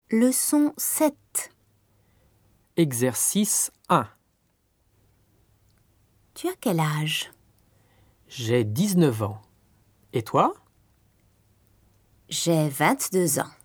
Leçon 7. Exercice 1. Tu as quel âge? J'ai 19 ans. Et toi? J'ai 22 ans.